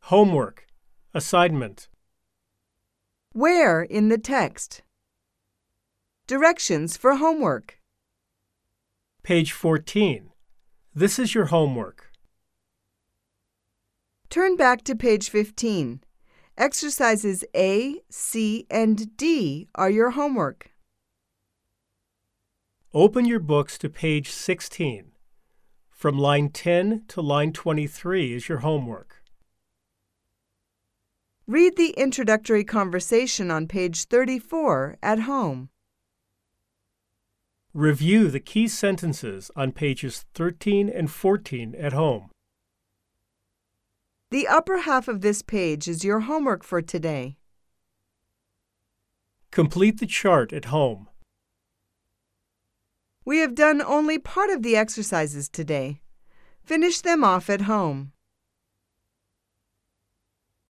Homework. Assignment. Where in the text? Directions for homework. Page 14. This is your homework. Turn back to page 15. Exercises A, C, and D are your homework. Open your books to page 16. From line 10 to line 23 is your homework. Read the introductory conversation on page 34 at home. Review the key sentences on pages 13 and 14 at home. The upper half of this page is your homework for today. Complete the chart at home. We have done only part of the exercises today. Finish them off at home.